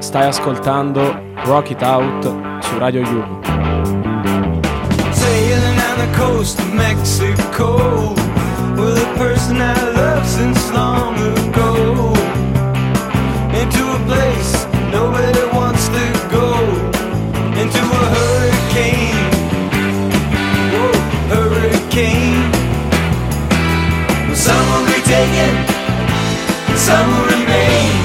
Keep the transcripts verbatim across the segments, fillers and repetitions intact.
Stai ascoltando Rock It Out su Radio Yulm. Sailing on the coast of Mexico with a person I love since long ago, into a place nobody wants to go, into a hurricane, whoa, hurricane. Some will be taken, some will remain.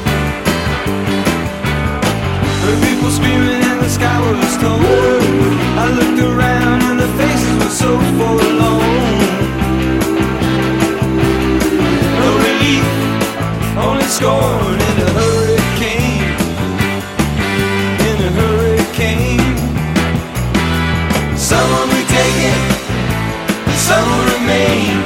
Heard people screaming and the sky was torn. I looked around and the faces were so forlorn. No relief, only scorn in a hurricane, in a hurricane. Some will be taken, some will remain.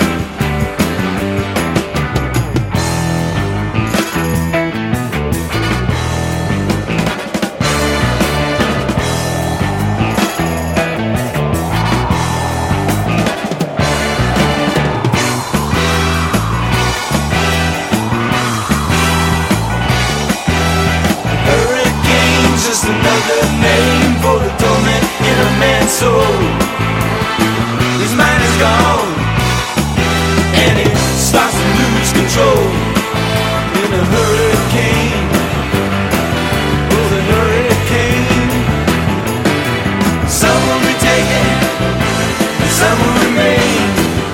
Another name for the torment in a man's soul. His mind is gone and he starts to lose control. In a hurricane, oh the hurricane. Some will be taken and some will remain.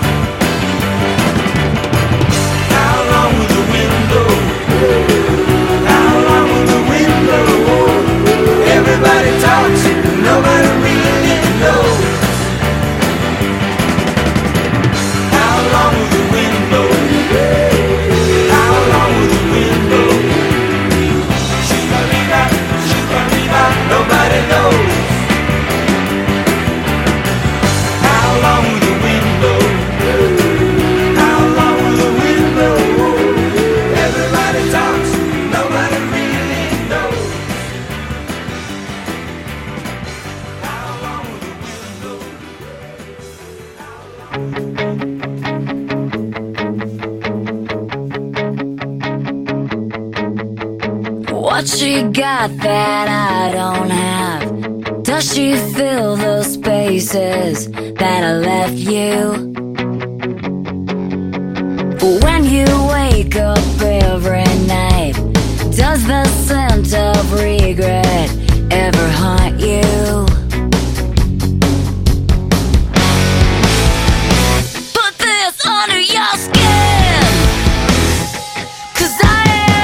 How long will the wind blow? How long will the wind blow? Everybody talks, nobody really knows. How long will the wind blow? How long will the wind blow? Shoo-ba-dee-ba, shoo-ba-dee-ba, nobody knows. How long will the wind blow? How long will the wind blow? Everybody talks, nobody really knows. What she got that I don't have? Does she fill those spaces that I left you? When you wake up every night, does the scent of regret ever haunt you? Put this under your skin, 'cause I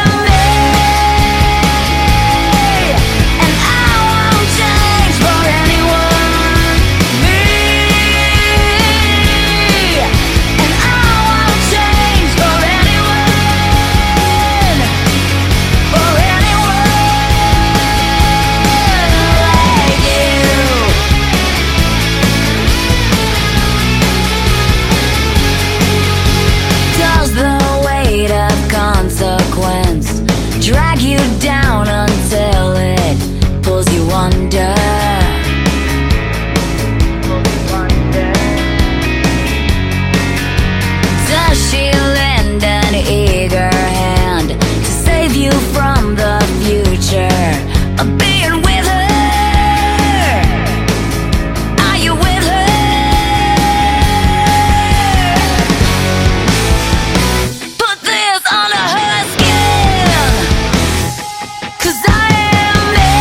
drag you down until it pulls you under. Does she lend an eager hand to save you from the future of being with her? Are you with her? Put this on her skin, 'cause I am me,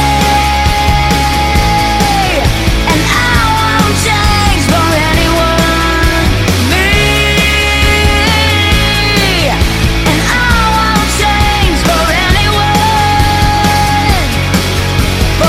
and I won't change for anyone. Me, and I won't change for anyone. For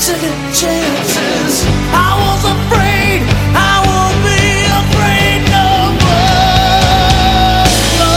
second chances. I was afraid I won't be afraid no more.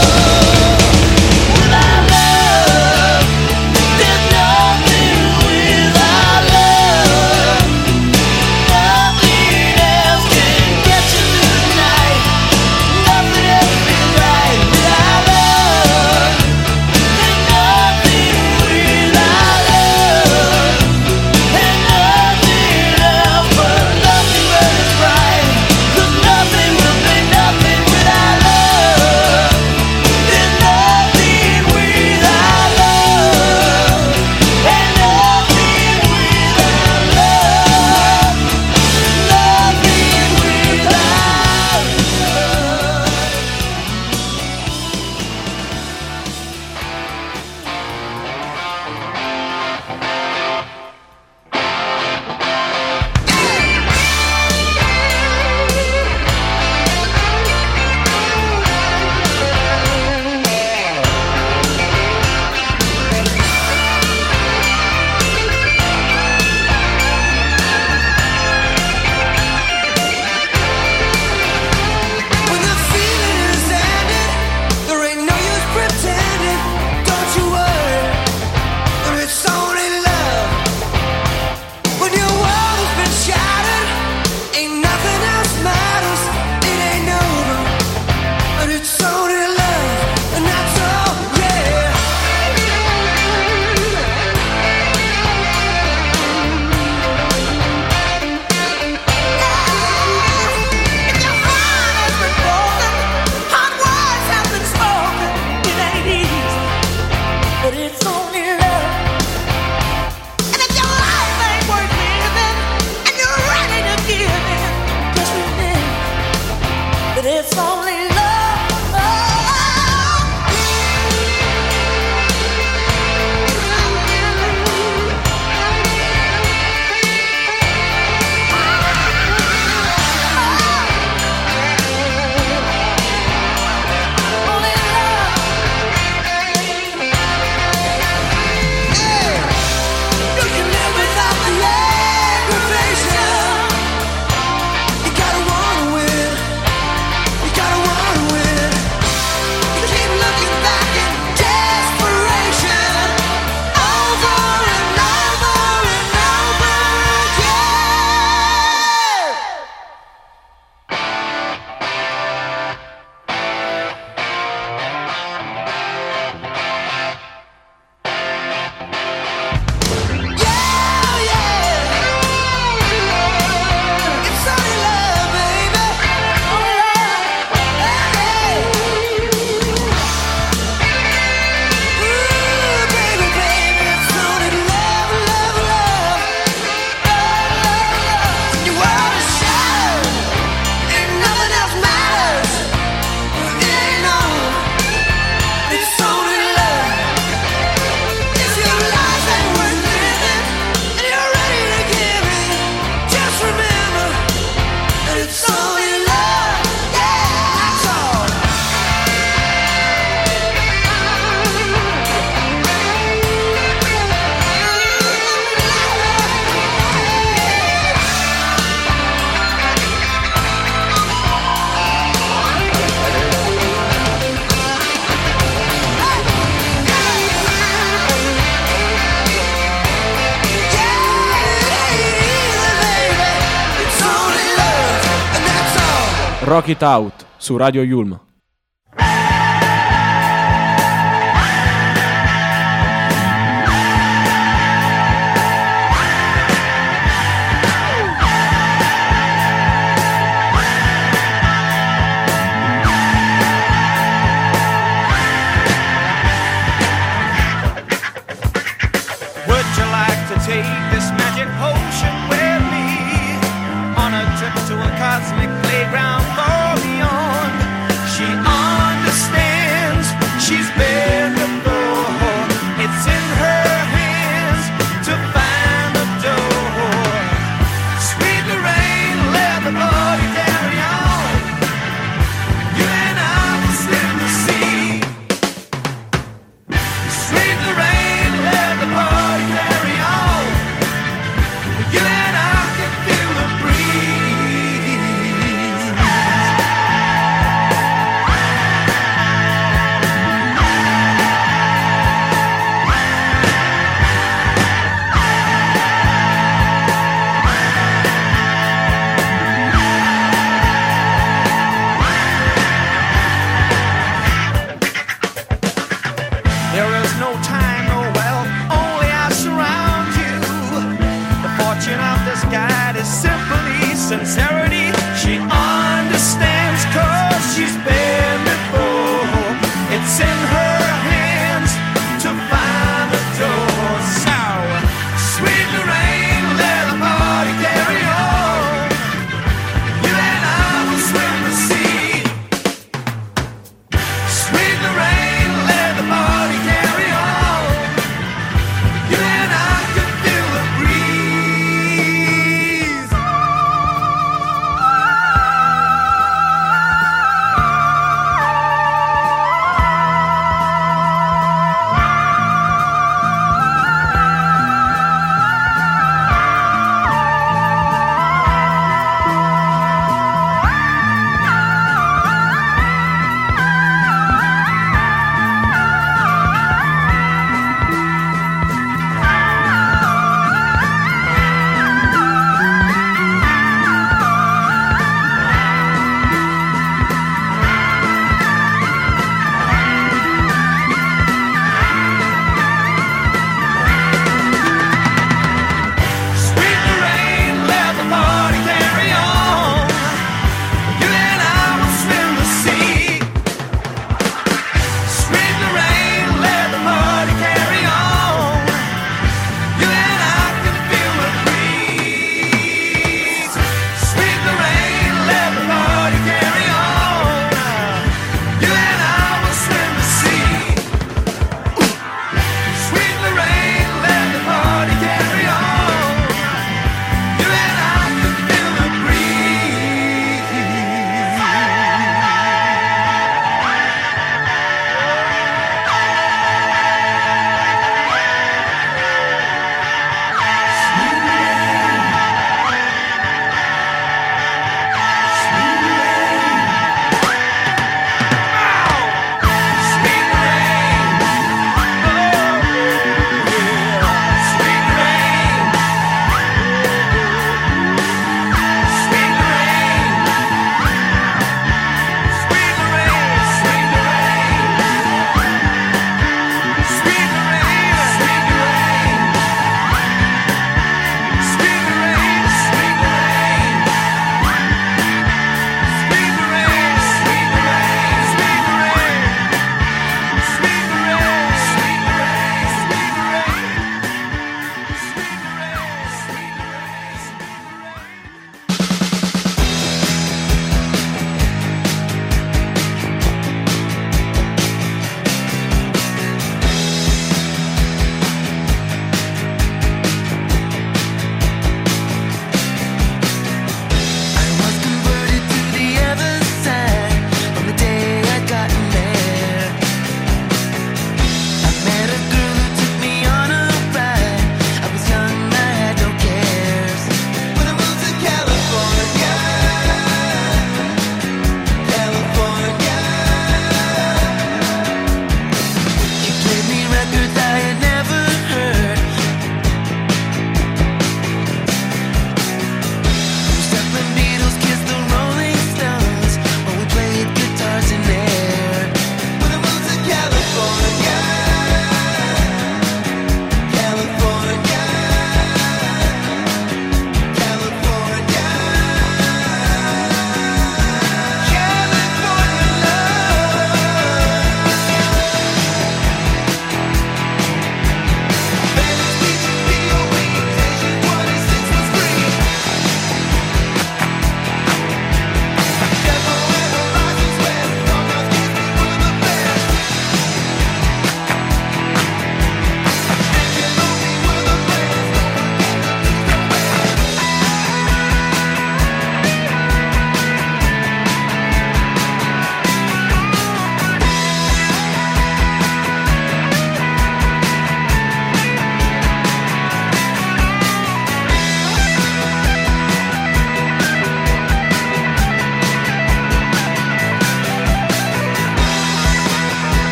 Without love, there's nothing without love. Nothing else can get you tonight. Nothing else is right without love. There's nothing without love. And nothing else but nothing but it's right. 'Cause nothing will be nothing without love. There's nothing without love. And nothing without love. Nothing without love. When the feeling is ended, there ain't no use pretending. Don't you worry, there is only love. When your world has been shattered, ain't nothing else matters. It ain't over, but it's only love, and that's all, yeah. If your heart has been broken, hard words have been spoken. It ain't easy, but it's only love. And if your life ain't worth living, and you're ready to give in, just remember that it's only love. Only love. You can live without the aggravation. You gotta wanna win. You gotta wanna win. You keep looking back in desperation, over and over and over again. Yeah, yeah. It's only love, baby. Only love. Hey. Ooh, baby, baby, it's only love, love, love. Love, love, love. Your world is shattered, and nothing else matters. It ain't over, it's only love. If your life ain't worth living, and you're ready to give in, just remember that it's only love. Yeah, that's all. Rock It Out su Radio Yulm. Would you like to take this magic potion with me on a trip to a cosmic playground far beyond? She understands, she's been before. It's in her hands to find the door. Sweet Lorraine, let the party carry on. You and I will sing the sea. Sweet Lorraine, let the party carry on. Lorelai's guide is simply sincerity. She understands cause she's been before. It's in her hands to find the door. So, sweet Lorraine, let the party carry on. You and I will swim the sea. Sweet Lorraine, let the party carry on. You and I could feel the breeze.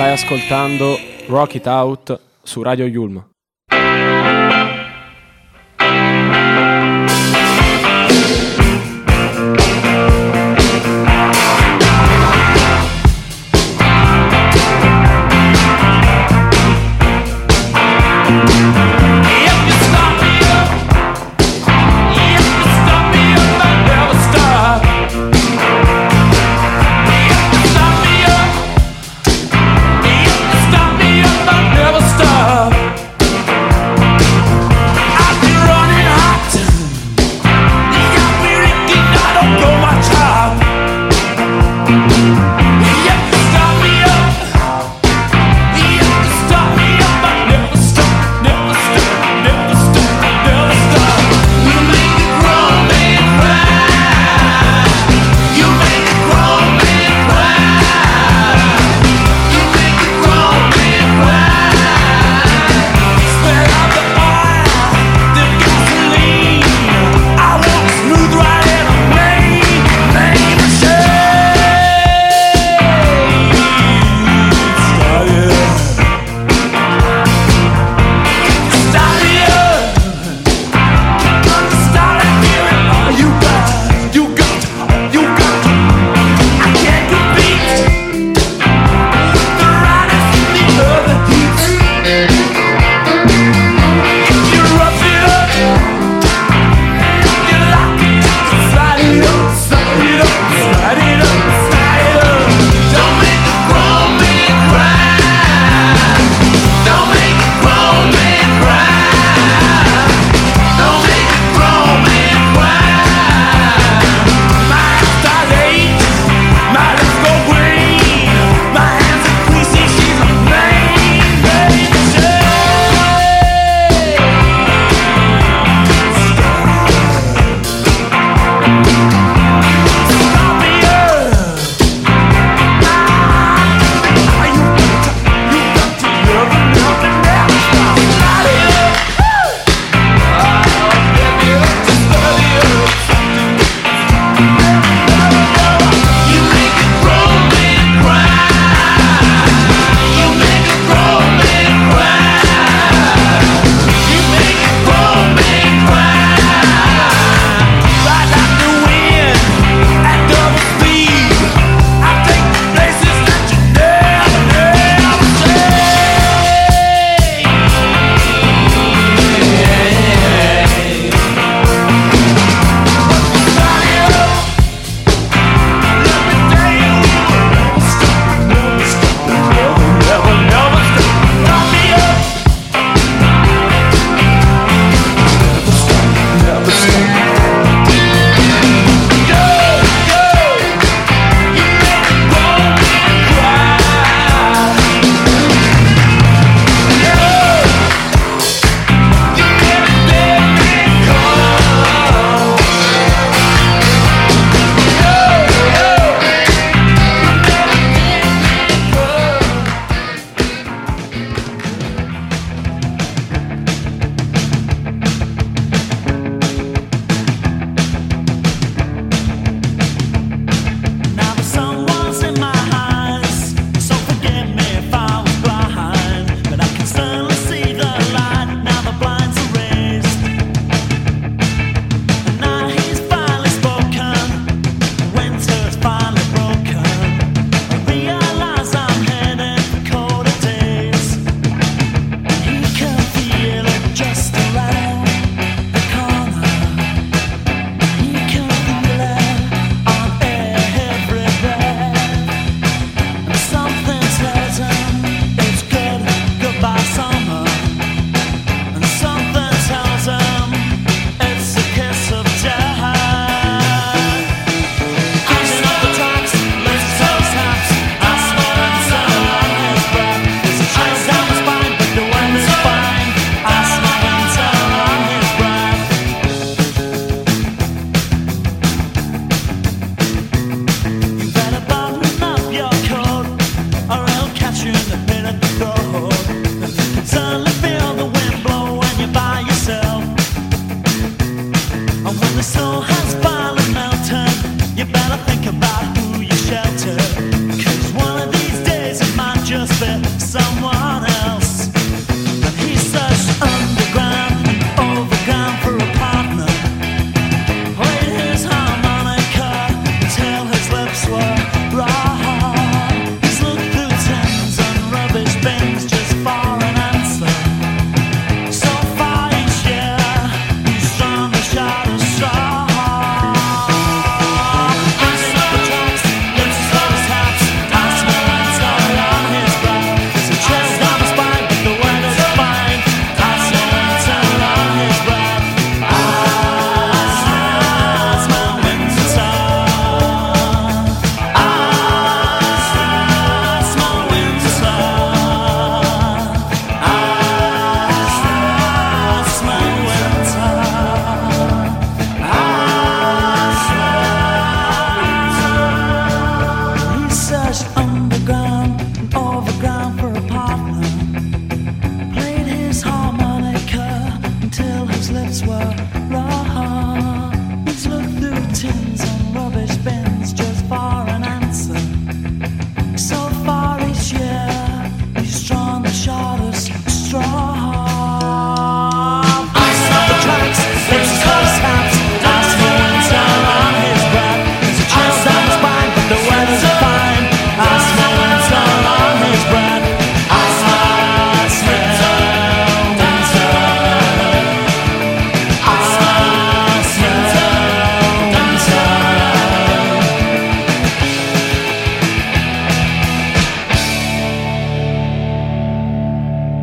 Stai ascoltando Rock It Out su Radio Yulm. Stop me up, I'll never stop.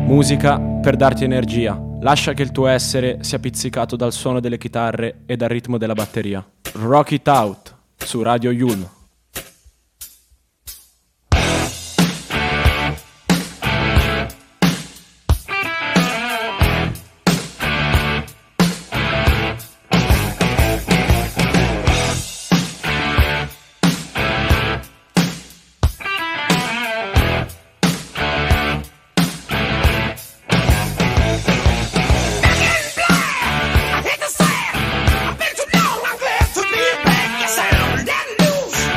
Musica per darti energia. Lascia che il tuo essere sia pizzicato dal suono delle chitarre e dal ritmo della batteria. Rock It Out su Radio Yulm. I've been too long, I'm glad to be back. Yes, I'm letting loose.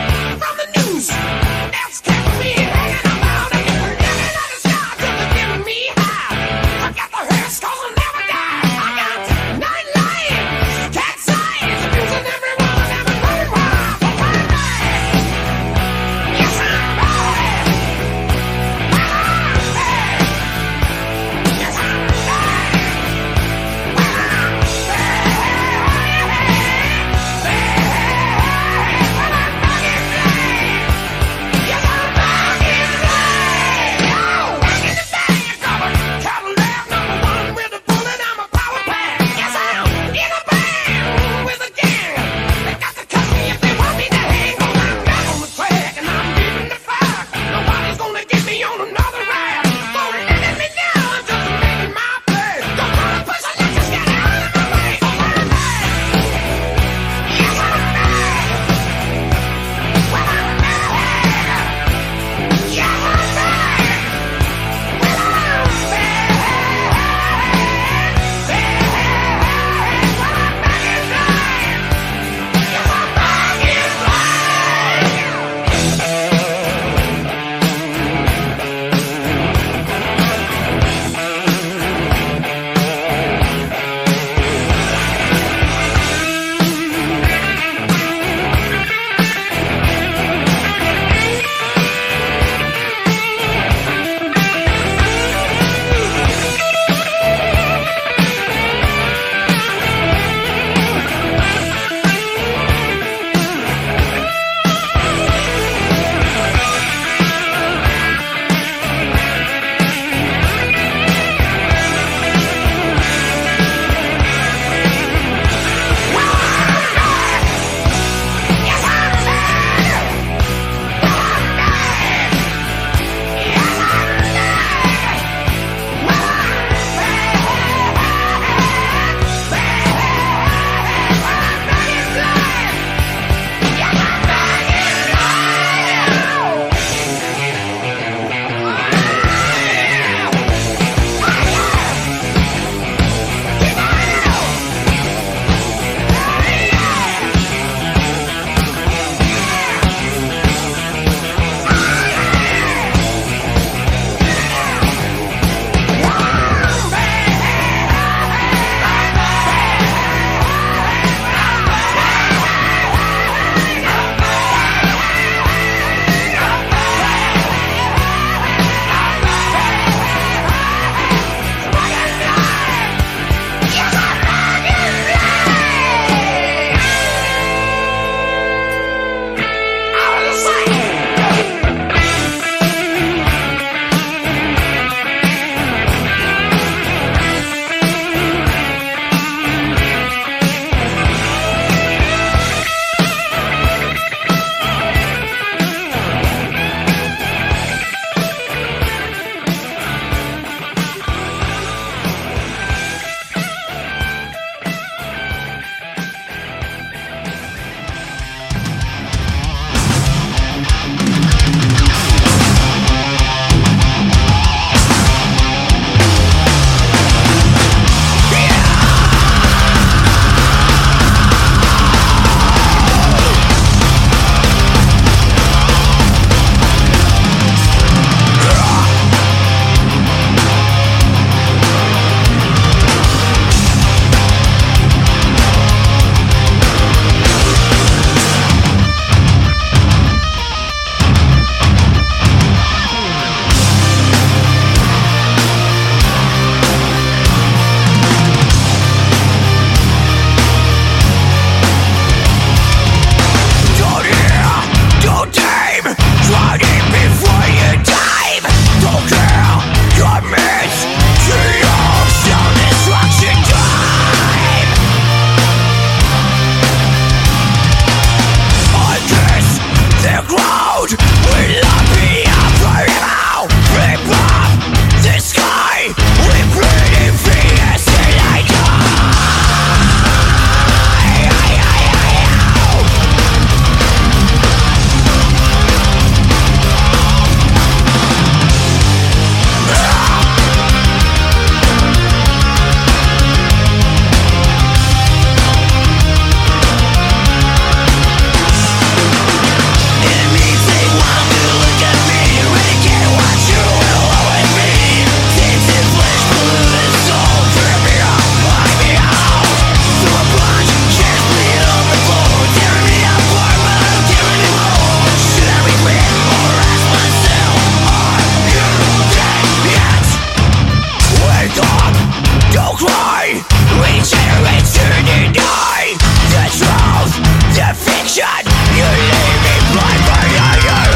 cry. We generate to deny the truth, the fiction. You leave me blind by your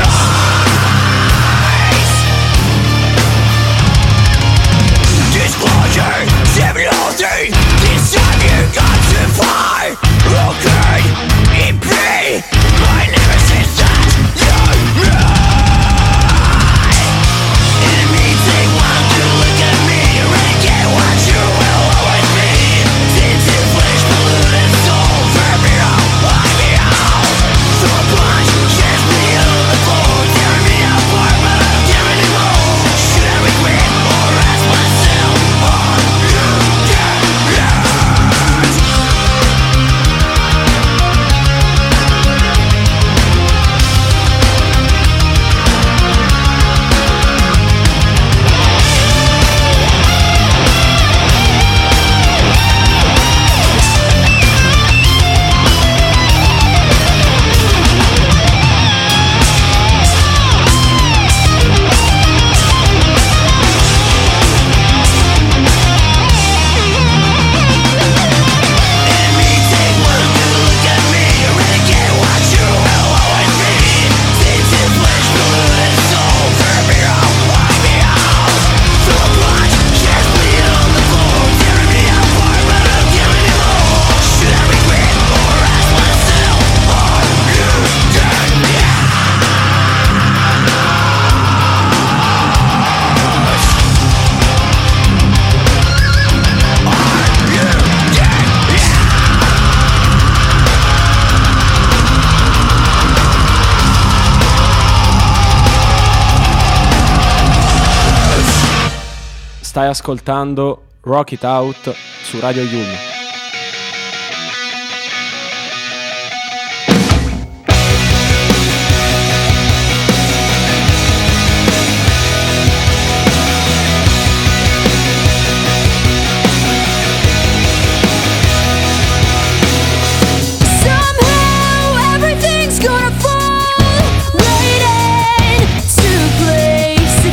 eyes. Disclosure, symbology. This time you got to fly. Okay, in me, my nemesis that you know. Enemy take one to look at me. Renegade what you will always be. Tinted flesh, polluted soul. Tear me out, lie me out. Throw a punch, chase me on the floor. Tear me apart, but I don't care anymore. Should I regret or ask myself, are you dead? Stai ascoltando Rock It Out su Radio Yulm.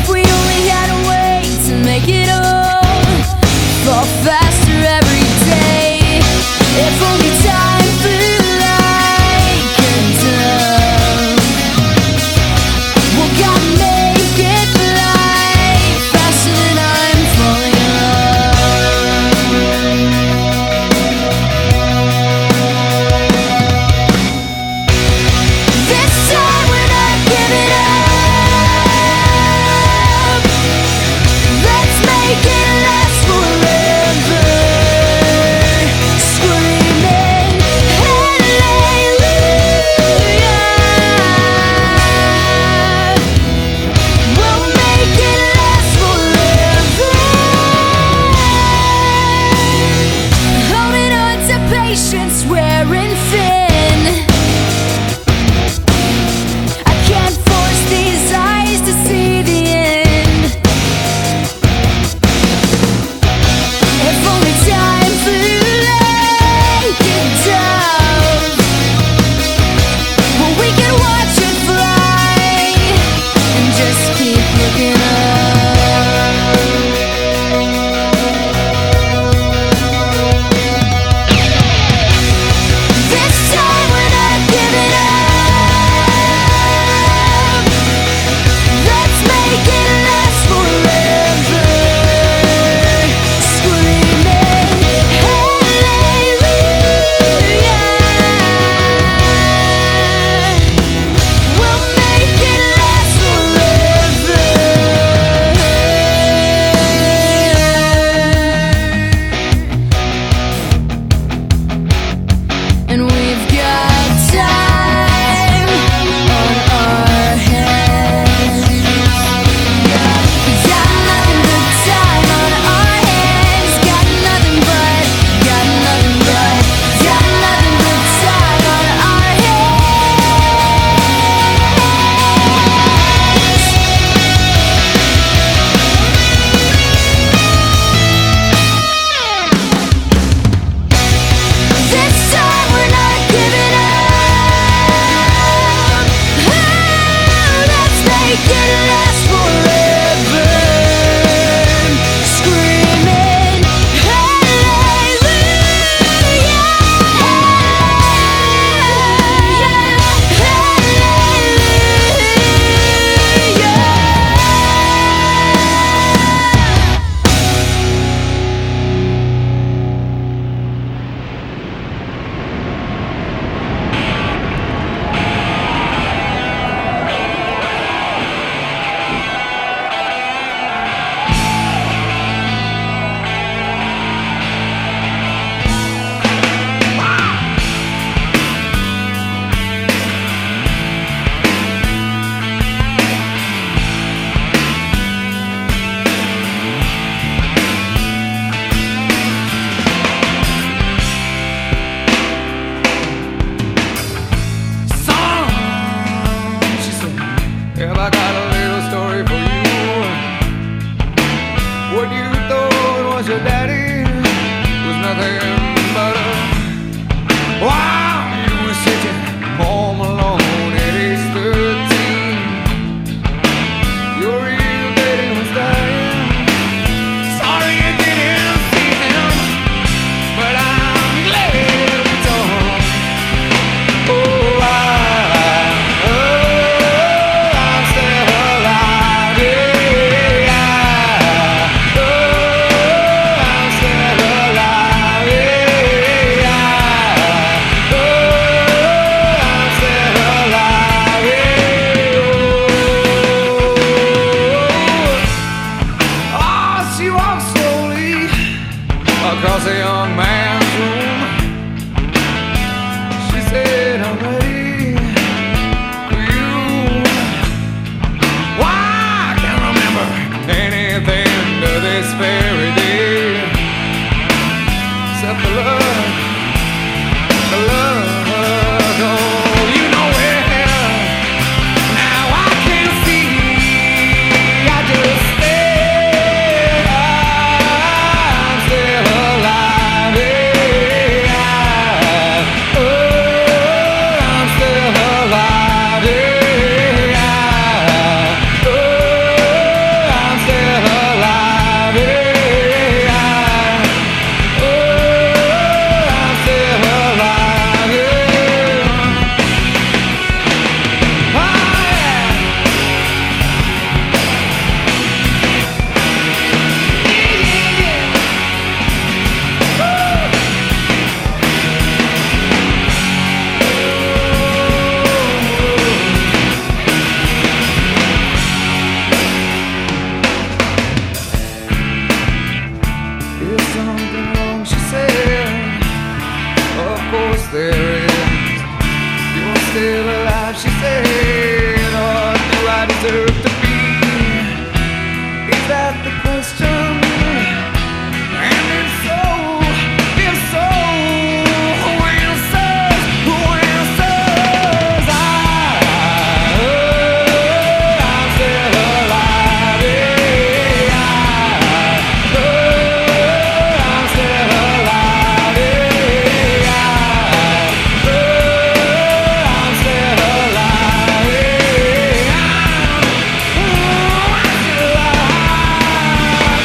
Faster every day. was your daddy was nothing but a while you were sitting home alone at age thirteen. Your real daddy was dying. Sorry you didn't see him, but I'm glad it's on. Oh, I, oh, I'm still alive. Yeah, oh, I'm still alive. Yeah, oh, I'm still alive. Yeah, oh, she walked slowly across a young man's room. She said, I'm ready for you. Why, I can't remember anything to this very day except the love, the love. Oh, you know it. Now I can see. I just stay. I'm still alive. Yeah. Oh, I'm still alive. Yeah. Oh, I'm still alive. Yeah. Oh, I'm still alive. Yeah. Oh, yeah. Is something wrong, she said. Of course there is. You're still alive, she said. Or do I deserve to be? Is that the question? And if so, if so, who answers? Who answers? I, oh, I'm still alive. Yeah. Oh, I'm still alive. Yeah. Oh, I'm still alive. Yeah. Oh, I'm still alive.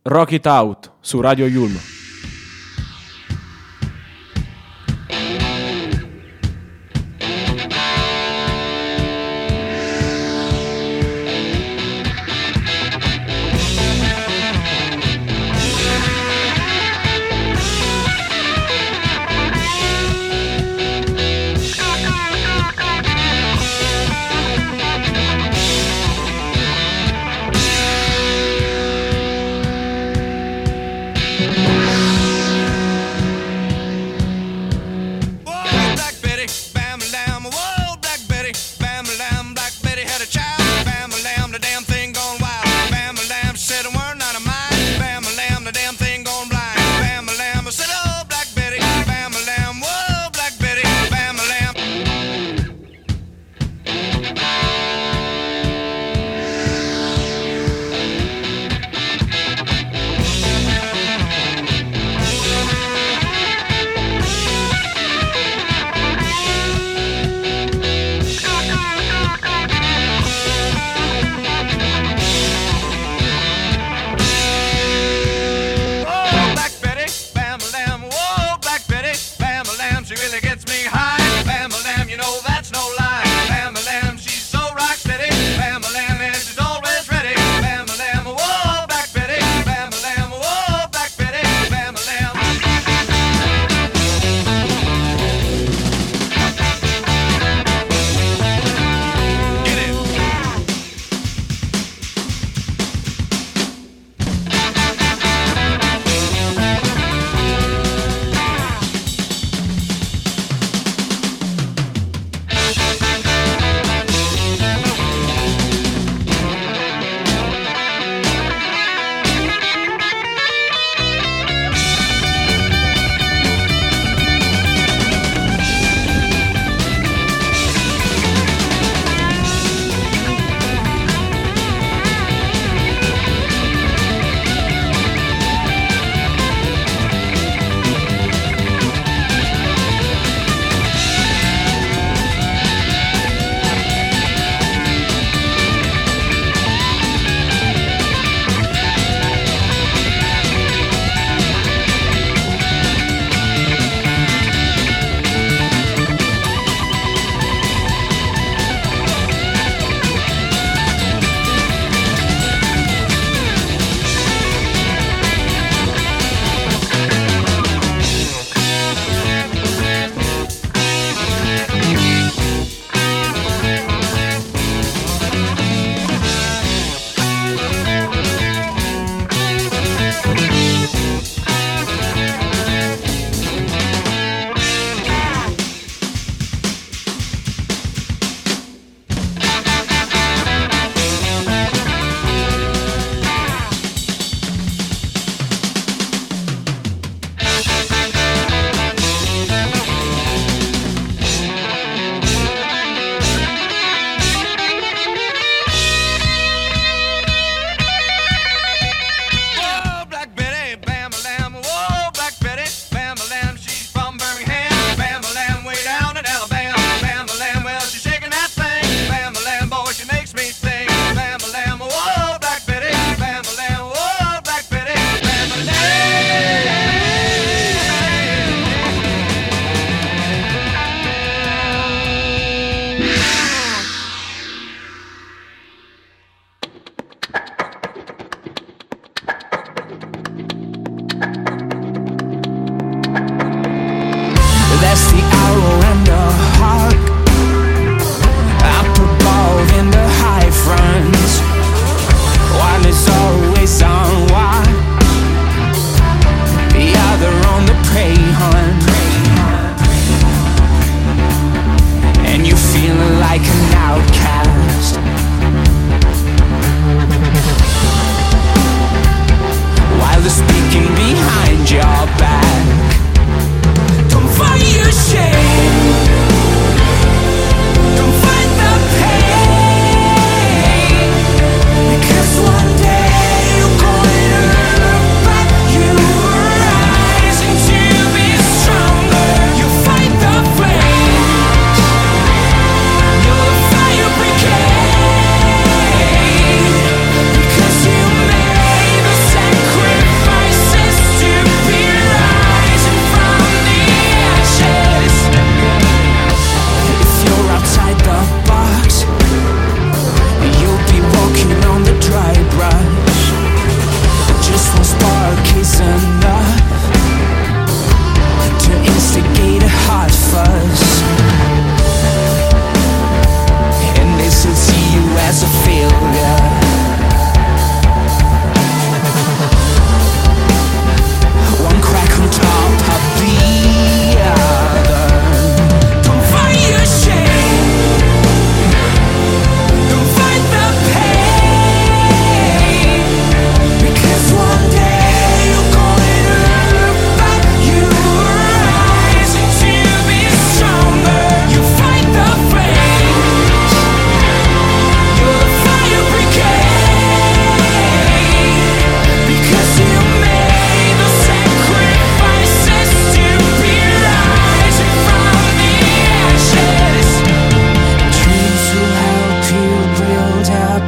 Rock It Out su Radio Yulm. We'll be right back.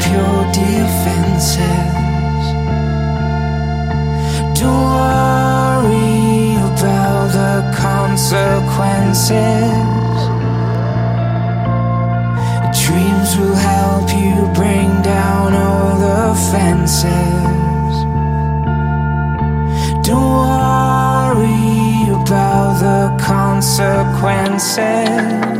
up your defenses. Don't worry about the consequences. Dreams will help you bring down all the fences. Don't worry about the consequences.